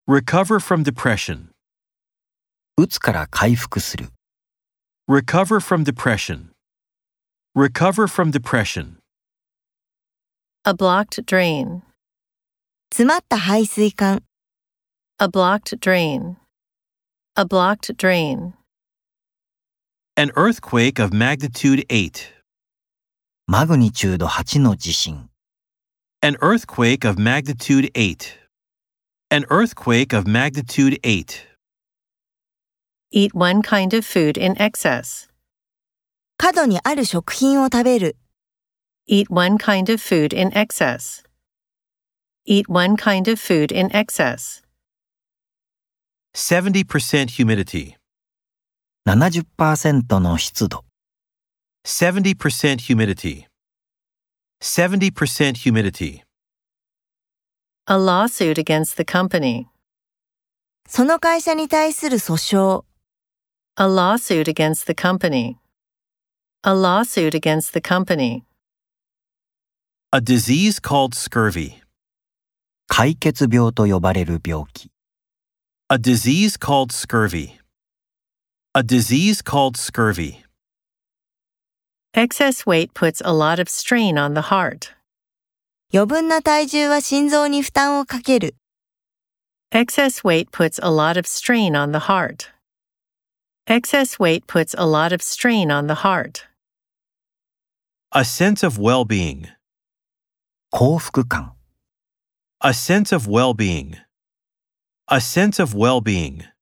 Recover from depression. うつから回復する。 Recover from depression. Recover from depression. A blocked drain. 詰まった排水管。 A blocked drain. A blocked drain. An earthquake of magnitude 8. マグニチュード8の地震。 An earthquake of magnitude 8. An earthquake of magnitude 8. Eat one kind of food in excess. 過度にある食品を食べる。 Eat one kind of food in excess. Eat one kind of food in excess. 70% humidity. 70% の湿度。 70% humidity. 70% humidity. A lawsuit against the company. その会社に対する訴訟。 A lawsuit against the company. A lawsuit against the company. A disease called scurvy. 解決病と呼ばれる病気。 A disease called scurvy. A disease called scurvy. Excess weight puts a lot of strain on the heart. 余分な体重は心臓に負担をかける。 Excess weight puts a lot of strain on the heart. Excess weight puts a lot of strain on the heart. A sense of well-being. 幸福感。 A sense of well-being. A sense of well-being.